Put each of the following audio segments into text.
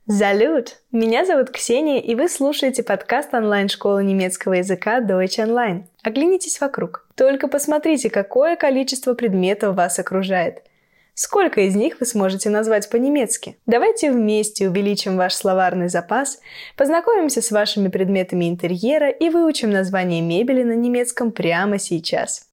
Салют! Меня зовут Ксения, и вы слушаете подкаст онлайн-школы немецкого языка Deutsch Online. Оглянитесь вокруг. Только посмотрите, какое количество предметов вас окружает. Сколько из них вы сможете назвать по-немецки? Давайте вместе увеличим ваш словарный запас, познакомимся с вашими предметами интерьера и выучим название мебели на немецком прямо сейчас.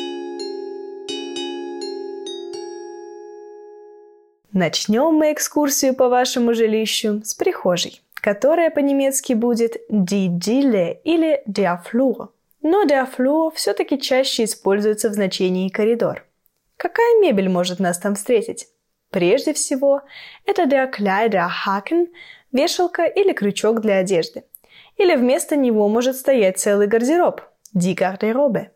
Начнем мы экскурсию по вашему жилищу с прихожей, которая по-немецки будет die Diele или der Flur. Но der Flur все-таки чаще используется в значении коридор. Какая мебель может нас там встретить? Прежде всего, это der Kleiderhaken, вешалка или крючок для одежды. Или вместо него может стоять целый гардероб, die Garderobe.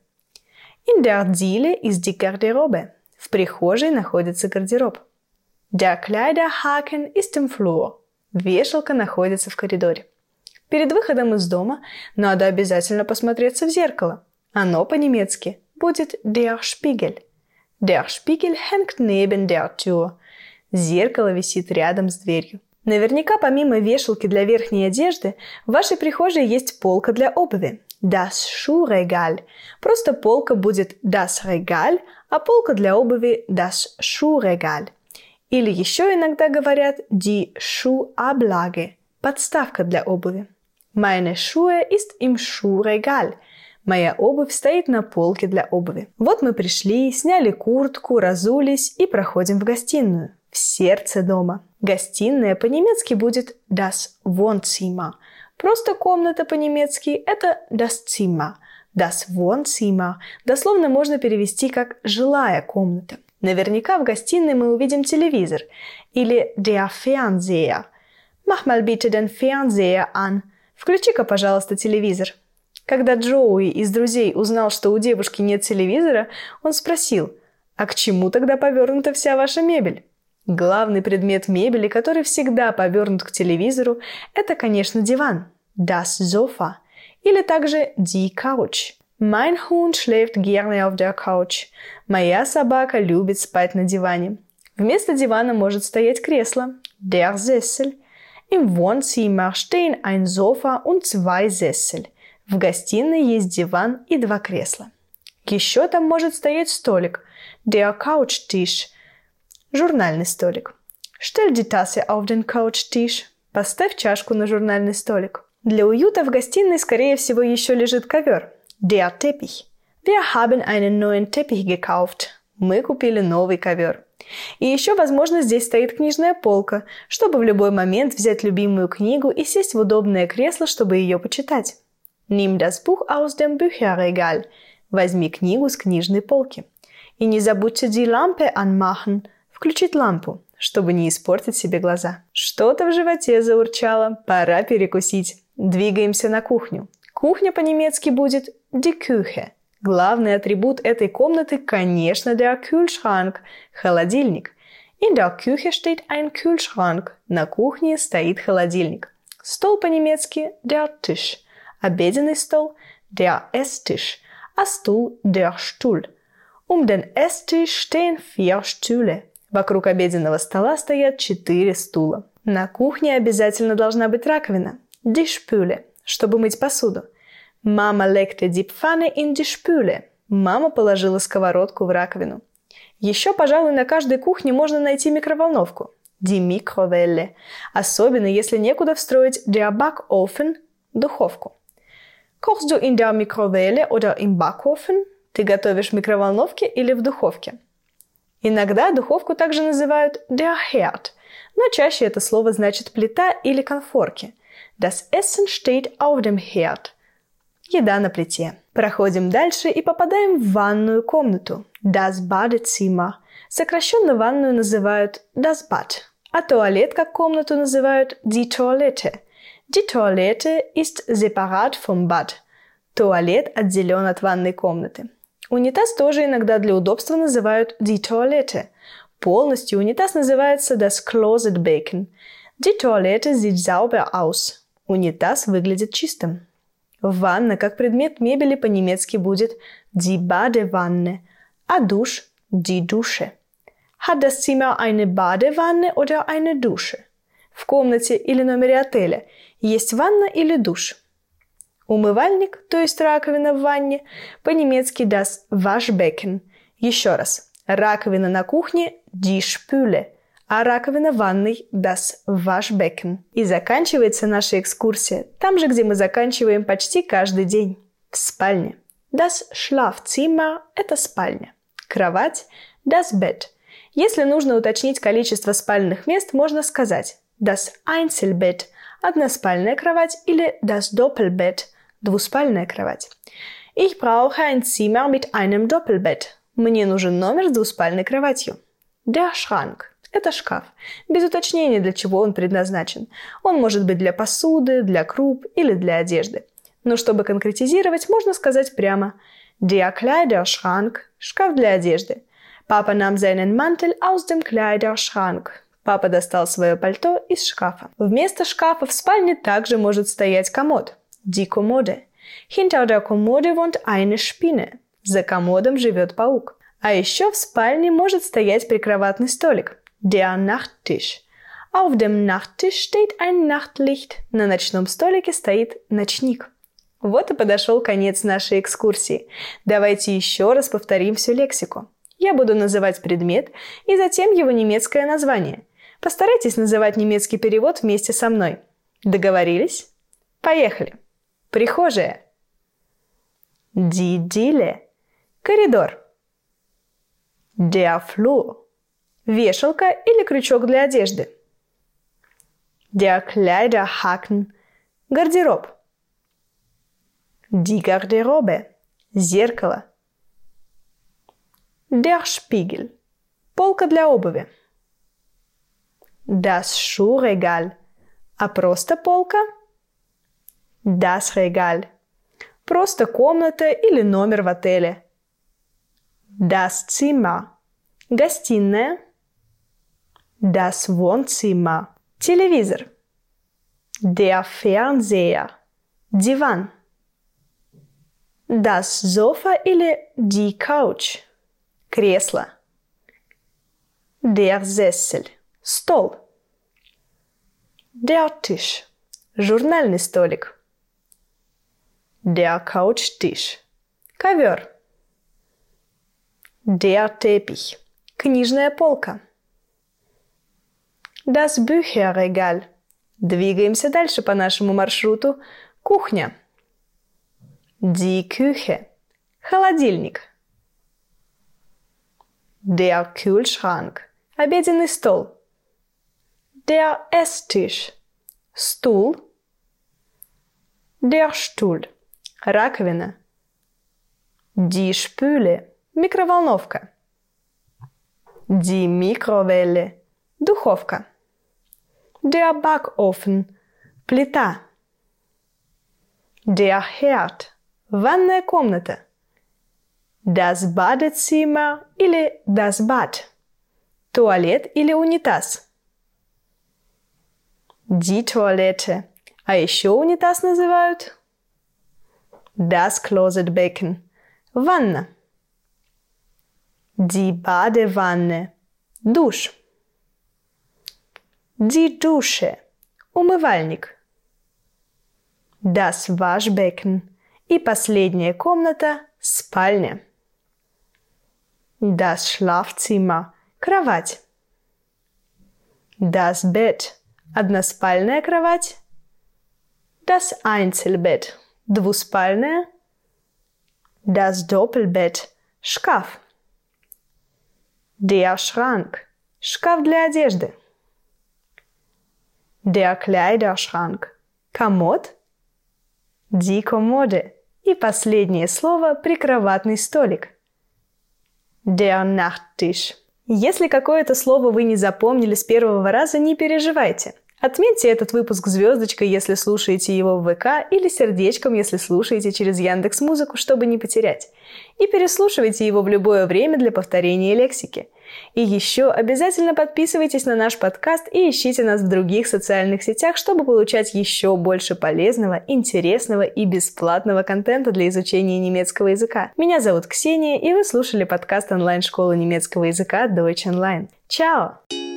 In der Diele ist die Garderobe. В прихожей находится гардероб. Der Kleiderhaken ist im Flur. Вешалка находится в коридоре. Перед выходом из дома надо обязательно посмотреться в зеркало. Оно по-немецки будет der Spiegel. Der Spiegel hängt neben der Tür. Зеркало висит рядом с дверью. Наверняка помимо вешалки для верхней одежды в вашей прихожей есть полка для обуви. Das Schuhregal. Просто полка будет das Regal, а полка для обуви das Schuhregal. Или еще иногда говорят die Schuhablage, подставка для обуви. Meine Schuhe ist im Schuhregal. Моя обувь стоит на полке для обуви. Вот мы пришли, сняли куртку, разулись и проходим в гостиную, в сердце дома. Гостиная по-немецки будет das Wohnzimmer. Просто комната по-немецки это das Zimmer. Das Wohnzimmer дословно можно перевести как «жилая комната». Наверняка в гостиной мы увидим телевизор или der Fernseher. Mach mal bitte den Fernseher an. Включи-ка, пожалуйста, телевизор. Когда Джоуи из «Друзей» узнал, что у девушки нет телевизора, он спросил, а к чему тогда повернута вся ваша мебель? Главный предмет мебели, который всегда повернут к телевизору, это, конечно, диван. Das Sofa. Или также die Couch. Mein Hund schläft gerne auf der Couch. Моя собака любит спать на диване. Вместо дивана может стоять кресло. Der Sessel. Im Wohnzimmer stehen ein Sofa und zwei Sessel. В гостиной есть диван и два кресла. Еще там может стоять столик. Der Couchtisch. Журнальный столик. Stell die Tasse auf den Couchtisch. Поставь чашку на журнальный столик. Для уюта в гостиной, скорее всего, еще лежит ковер. Der Teppich. Wir haben einen neuen Teppich gekauft. Мы купили новый ковер. И еще, возможно, здесь стоит книжная полка, чтобы в любой момент взять любимую книгу и сесть в удобное кресло, чтобы ее почитать. Nimm das Buch aus dem Bücherregal. Возьми книгу с книжной полки. И не забудьте die Lampe anmachen. Включить лампу, чтобы не испортить себе глаза. Что-то в животе заурчало. Пора перекусить. Двигаемся на кухню. Кухня по-немецки будет die Küche. Главный атрибут этой комнаты, конечно, der Kühlschrank – холодильник. In der Küche steht ein Kühlschrank. На кухне стоит холодильник. Стол по-немецки der Tisch. Обеденный стол der Esstisch, а стул der Stuhl. Den Esstisch stehen 4 Stühle. Вокруг обеденного стола стоят 4 стула. На кухне обязательно должна быть раковина die Spüle, чтобы мыть посуду. Mama legte die Pfanne in die Spüle. Мама положила сковородку в раковину. Еще, пожалуй, на каждой кухне можно найти микроволновку. Die Mikrowelle. Особенно, если некуда встроить der Backofen – духовку. Kochst du in der Mikrowelle oder im Backofen? Ты готовишь в микроволновке или в духовке? Иногда духовку также называют der Herd, но чаще это слово значит плита или конфорки. Das Essen steht auf dem Herd. Еда на плите. Проходим дальше и попадаем в ванную комнату. Das Badezimmer. Сокращенно ванную называют das Bad, а туалет как комнату называют die Toilette. Die Toilette ist separat vom Bad. Туалет отделен от ванной комнаты. Унитаз тоже иногда для удобства называют die Toilette. Полностью унитаз называется das Klosetbecken. Die Toilette sieht sauber aus. Унитаз выглядит чистым. Ванна как предмет мебели по-немецки будет die Badewanne, а душ die Dusche. Hat das Zimmer eine Badewanne oder eine Dusche? в комнате или номере отеля есть ванна или душ? Умывальник, то есть раковина в ванне, по-немецки das Waschbecken. Еще раз. Раковина на кухне die Spüle, а раковина в ванной das Waschbecken. И заканчивается наша экскурсия там же, где мы заканчиваем почти каждый день. В спальне. Das Schlafzimmer – это спальня. Кровать – das Bett. Если нужно уточнить количество спальных мест, можно сказать das Einzelbett – односпальная кровать или das Doppelbett – двуспальная кровать. Ich brauche ein Zimmer mit einem Doppelbett. Мне нужен номер с двуспальной кроватью. Der Schrank – это шкаф. Без уточнения, для чего он предназначен. Он может быть для посуды, для круп или для одежды. Но чтобы конкретизировать, можно сказать прямо Der Kleiderschrank – шкаф для одежды. Папа nahm seinen Mantel aus dem Kleiderschrank. Папа достал свое пальто из шкафа. Вместо шкафа в спальне также может стоять комод. Die Kommode. Hinter der Kommode wohnt eine Spinne. За комодом живет паук. А еще в спальне может стоять прикроватный столик. Der Nachttisch. Auf dem Nachttisch steht ein Nachtlicht. На ночном столике стоит ночник. Вот и подошел конец нашей экскурсии. Давайте еще раз повторим всю лексику. Я буду называть предмет и затем его немецкое название. Постарайтесь называть немецкий перевод вместе со мной. Договорились? Поехали! Прихожая. Die Diele. Коридор. Der Flur. Вешалка или крючок для одежды. Der Kleiderhaken. Гардероб. Die Garderobe. Зеркало. Der Spiegel. Полка для обуви. Das Schuhregal. А просто полка? Das Regal. Просто комната или номер в отеле. Das Zimmer. Гостиная. Das Wohnzimmer. Телевизор. Der Fernseher. Диван. Das Sofa или die Couch. Кресло. Der Sessel. Стол. Der Tisch. Журнальный столик. Der Couchtisch. Ковер. Der Teppich. Книжная полка. Das Bücherregal. Двигаемся дальше по нашему маршруту. Кухня. Die Küche. Холодильник. Der Kühlschrank. Обеденный стол. Der Esstisch. Стул. Der Stuhl. Раковина. Die Spüle. Микроволновка. Die Mikrowelle. Духовка. Der Backofen. Плита. Der Herd. Ванная комната. Das Badezimmer или das Bad. Туалет или унитаз. Die Toilette. А еще унитаз называют das Klosetbecken. Ванна. Die Badewanne. Душ. Die Dusche. Умывальник. Das Waschbecken. И последняя комната – спальня. Das Schlafzimmer. Кровать. Das Bett. Односпальная кровать. Das Einzelbett. Двуспальная. Das Doppelbett. Шкаф. Der Schrank. Шкаф для одежды. Der Kleiderschrank. Комод. Die Kommode. И последнее слово – прикроватный столик. Der Nachttisch. Если какое-то слово вы не запомнили с первого раза, не переживайте. Отметьте этот выпуск звездочкой, если слушаете его в ВК, или сердечком, если слушаете через Яндекс.Музыку, чтобы не потерять. И переслушивайте его в любое время для повторения лексики. И еще обязательно подписывайтесь на наш подкаст и ищите нас в других социальных сетях, чтобы получать еще больше полезного, интересного и бесплатного контента для изучения немецкого языка. Меня зовут Ксения, и вы слушали подкаст онлайн-школы немецкого языка Deutsch Online. Чао!